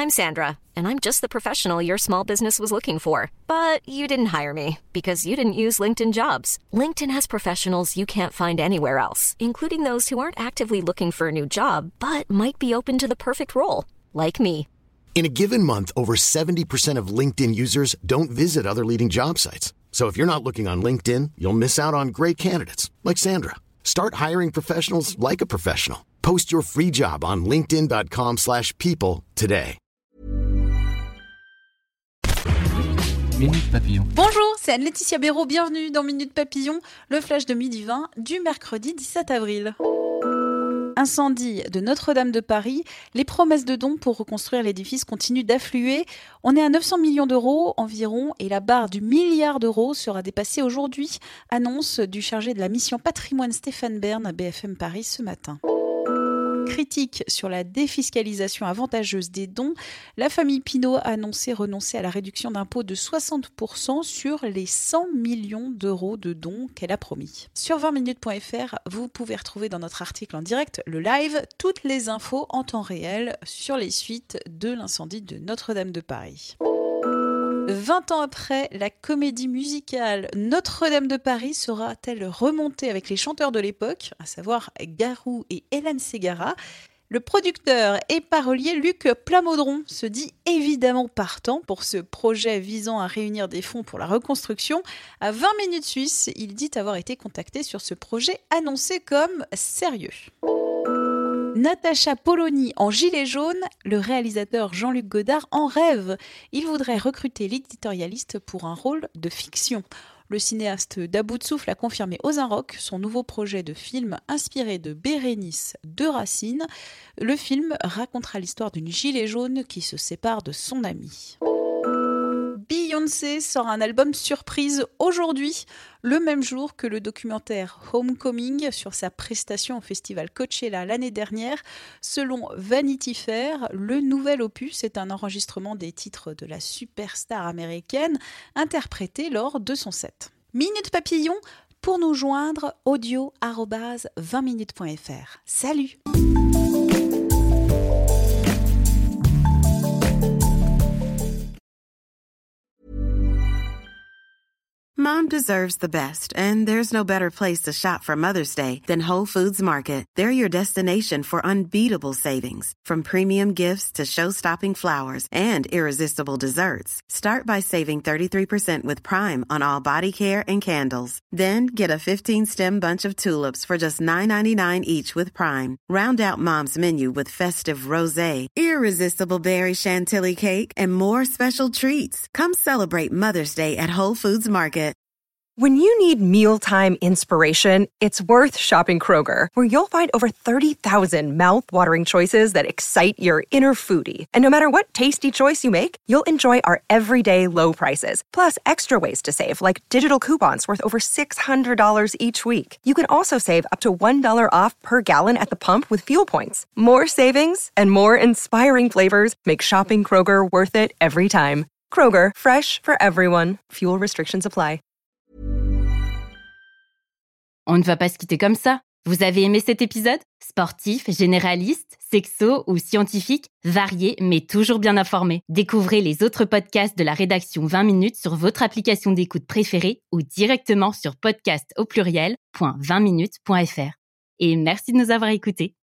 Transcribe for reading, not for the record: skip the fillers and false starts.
I'm Sandra, and I'm just the professional your small business was looking for. But you didn't hire me because you didn't use LinkedIn Jobs. LinkedIn has professionals you can't find anywhere else, including those who aren't actively looking for a new job, but might be open to the perfect role, like me. In a given month, over 70% of LinkedIn users don't visit other leading job sites. So if you're not looking on LinkedIn, you'll miss out on great candidates like Sandra. Start hiring professionals like a professional. Post your free job on linkedin.com/people today. Minute Papillon. Bonjour, c'est Anne-Laetitia Béraud, bienvenue dans Minute Papillon, le flash de midi 20 du mercredi 17 avril. Incendie de Notre-Dame de Paris, les promesses de dons pour reconstruire l'édifice continuent d'affluer. On est à 900 millions d'euros environ et la barre du milliard d'euros sera dépassée aujourd'hui. Annonce du chargé de la mission patrimoine Stéphane Bern à BFM Paris ce matin. Critique sur la défiscalisation avantageuse des dons, la famille Pinault a annoncé renoncer à la réduction d'impôt de 60% sur les 100 millions d'euros de dons qu'elle a promis. Sur 20minutes.fr, vous pouvez retrouver dans notre article en direct, le live, toutes les infos en temps réel sur les suites de l'incendie de Notre-Dame de Paris. 20 ans après, la comédie musicale Notre-Dame de Paris sera-t-elle remontée avec les chanteurs de l'époque, à savoir Garou et Hélène Ségara ? Le producteur et parolier Luc Plamondron se dit évidemment partant pour ce projet visant à réunir des fonds pour la reconstruction. À 20 minutes suisse, il dit avoir été contacté sur ce projet annoncé comme sérieux. Natacha Polony en gilet jaune, le réalisateur Jean-Luc Godard en rêve. Il voudrait recruter l'éditorialiste pour un rôle de fiction. Le cinéaste d'À bout de souffle a confirmé aux Inrocks son nouveau projet de film inspiré de Bérénice de Racine. Le film racontera l'histoire d'une gilet jaune qui se sépare de son amie. Beyoncé sort un album surprise aujourd'hui, le même jour que le documentaire Homecoming sur sa prestation au festival Coachella l'année dernière. Selon Vanity Fair, le nouvel opus est un enregistrement des titres de la superstar américaine interprétés lors de son set. Minute Papillon, pour nous joindre, audio@20minutes.fr. Salut! Mom deserves the best, and there's no better place to shop for Mother's Day than Whole Foods Market. They're your destination for unbeatable savings, from premium gifts to show-stopping flowers and irresistible desserts. Start by saving 33% with Prime on all body care and candles. Then get a 15-stem bunch of tulips for just $9.99 each with Prime. Round out Mom's menu with festive rosé, irresistible berry chantilly cake, and more special treats. Come celebrate Mother's Day at Whole Foods Market. When you need mealtime inspiration, it's worth shopping Kroger, where you'll find over 30,000 mouth-watering choices that excite your inner foodie. And no matter what tasty choice you make, you'll enjoy our everyday low prices, plus extra ways to save, like digital coupons worth over $600 each week. You can also save up to $1 off per gallon at the pump with fuel points. More savings and more inspiring flavors make shopping Kroger worth it every time. Kroger, fresh for everyone. Fuel restrictions apply. On ne va pas se quitter comme ça. Vous avez aimé cet épisode ? Sportif, généraliste, sexo ou scientifique, varié mais toujours bien informé. Découvrez les autres podcasts de la rédaction 20 minutes sur votre application d'écoute préférée ou directement sur podcast@20minutes.fr. Et merci de nous avoir écoutés.